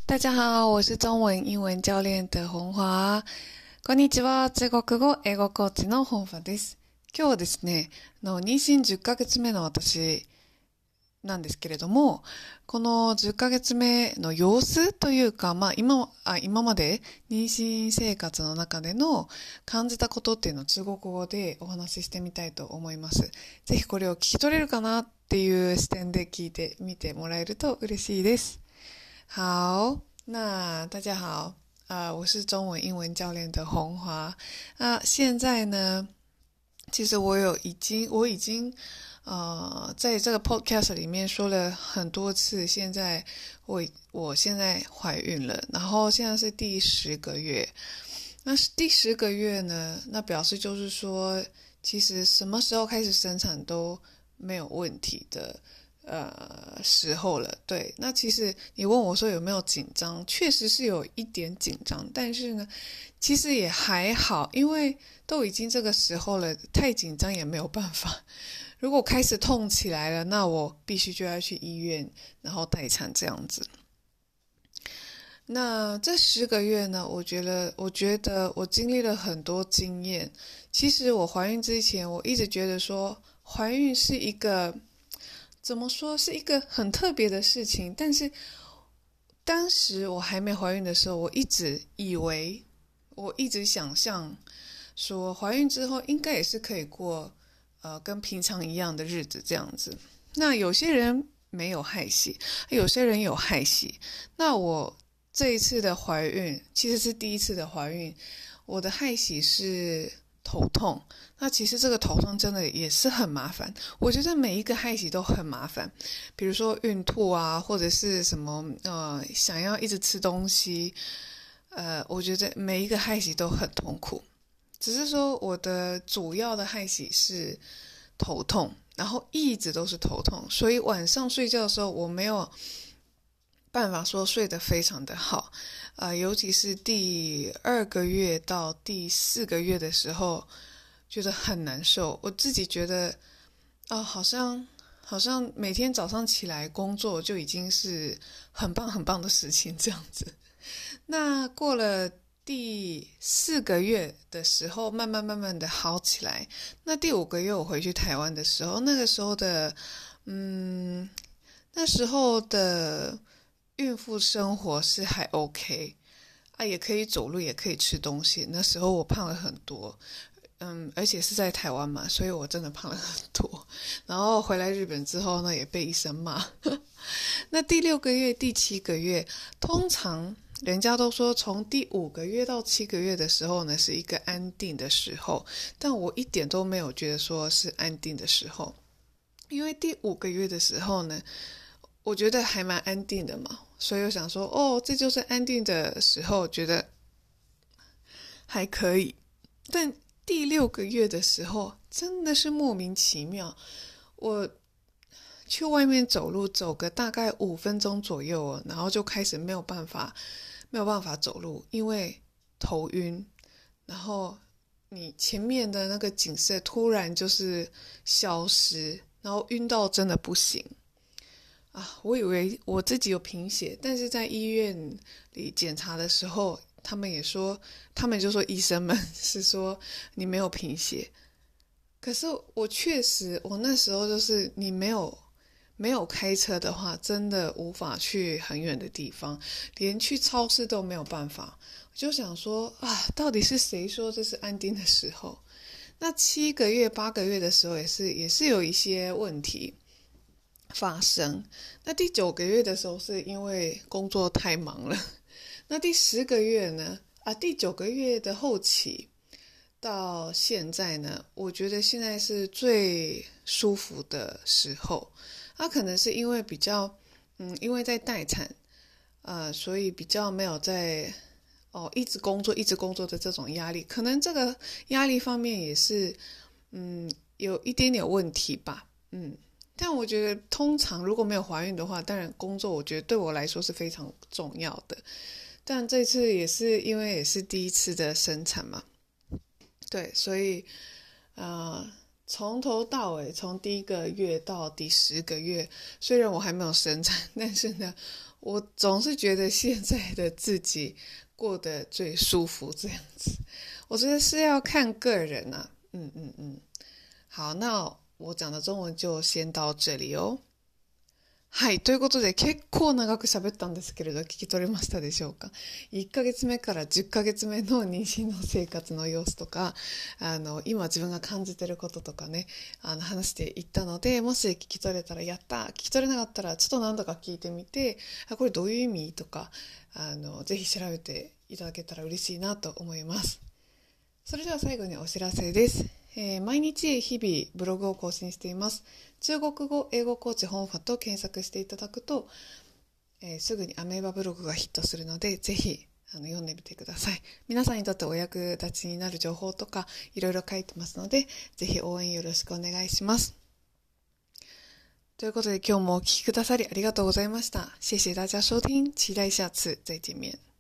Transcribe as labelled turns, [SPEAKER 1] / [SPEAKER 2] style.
[SPEAKER 1] 大家好，我是中文英文教練的本華。こんにちは、中国語、英語コーチの本華です。今日はですね、妊娠10ヶ月目の私なんですけれども、この10ヶ月目の様子というか、今まで妊娠生活の中での感じたことっていうのを中国語でお話ししてみたいと思います。ぜひこれを聞き取れるかなっていう視点で聞いてみてもらえると嬉しいです。好，那大家好，我是中文英文教练的红华。现在呢，其实我已经在这个 podcast 里面说了很多次，我现在怀孕了，然后现在是第10个月。那第10个月呢，那表示就是说，其实什么时候开始生产都没有问题的。时候了，对。那其实你问我说有没有紧张，确实是有一点紧张，但是呢，其实也还好，因为都已经这个时候了，太紧张也没有办法。如果开始痛起来了，那我必须就要去医院，然后待产这样子。那这10个月呢，我觉得我经历了很多经验。其实我怀孕之前，我一直觉得说怀孕是一个怎么说是一个很特别的事情，但是当时我还没怀孕的时候，我一直想象说怀孕之后应该也是可以过跟平常一样的日子这样子。那有些人没有害喜，有些人有害喜。那我这一次的怀孕其实是第一次的怀孕，我的害喜是头痛。那其实这个头痛真的也是很麻烦，我觉得每一个害喜都很麻烦，比如说孕吐啊，或者是什么想要一直吃东西，我觉得每一个害喜都很痛苦。只是说我的主要的害喜是头痛，然后一直都是头痛，所以晚上睡觉的时候我没有办法说睡得非常的好，尤其是第2个月到第4个月的时候，觉得很难受。我自己觉得，好像每天早上起来工作就已经是很棒很棒的事情这样子。那过了第4个月的时候，慢慢的好起来。那第5个月我回去台湾的时候，那时候的孕妇生活是还 OK 也可以走路，也可以吃东西。那时候我胖了很多，而且是在台湾嘛，所以我真的胖了很多。然后回来日本之后呢，也被医生骂。那第6个月、第7个月，通常人家都说从第5个月到7个月的时候呢，是一个安定的时候，但我一点都没有觉得说是安定的时候，因为第5个月的时候呢，我觉得还蛮安定的嘛，所以我想说，这就是安定的时候，觉得还可以。但第6个月的时候，真的是莫名其妙。我去外面走路，走个大概5分钟左右，然后就开始没有办法走路，因为头晕。然后你前面的那个景色突然就是消失，然后晕到真的不行。我以为我自己有贫血，但是在医院里检查的时候，他们就说医生们是说你没有贫血。可是我确实，我那时候就是你没有开车的话，真的无法去很远的地方，连去超市都没有办法。我就想说到底是谁说这是安定的时候？那7个月、8个月的时候也是有一些问题发生。那第9个月的时候是因为工作太忙了。那第10个月呢？第9个月的后期到现在呢，我觉得现在是最舒服的时候。可能是因为因为在待产，所以比较没有在一直工作的这种压力。可能这个压力方面也是有一点点问题吧。但我觉得通常如果没有怀孕的话，当然工作我觉得对我来说是非常重要的。但这次也是因为也是第一次的生产嘛，对，所以从头到尾，从第1个月到第10个月，虽然我还没有生产，但是呢， 我总是觉得现在的自己过得最舒服这样子。我觉得是要看个人啊。好，那我讲的中文就先到这里哦。はい。ということで、結構長く喋ったんですけれど、聞き取れましたでしょうか。1ヶ月目から10ヶ月目の妊娠の生活の様子とか、今自分が感じてることとかね、話していったので、もし聞き取れたらやった、聞き取れなかったらちょっと何度か聞いてみて、これどういう意味とか、ぜひ調べていただけたら嬉しいなと思います。それでは最後にお知らせです。毎日日々ブログを更新しています。中国語英語コーチ本ファと検索していただくと、すぐにアメーバブログがヒットするので、ぜひ読んでみてください。皆さんにとってお役立ちになる情報とかいろいろ書いてますので、ぜひ応援よろしくお願いします。ということで今日もお聞きくださりありがとうございました。谢谢大家收听，期待下次再见面。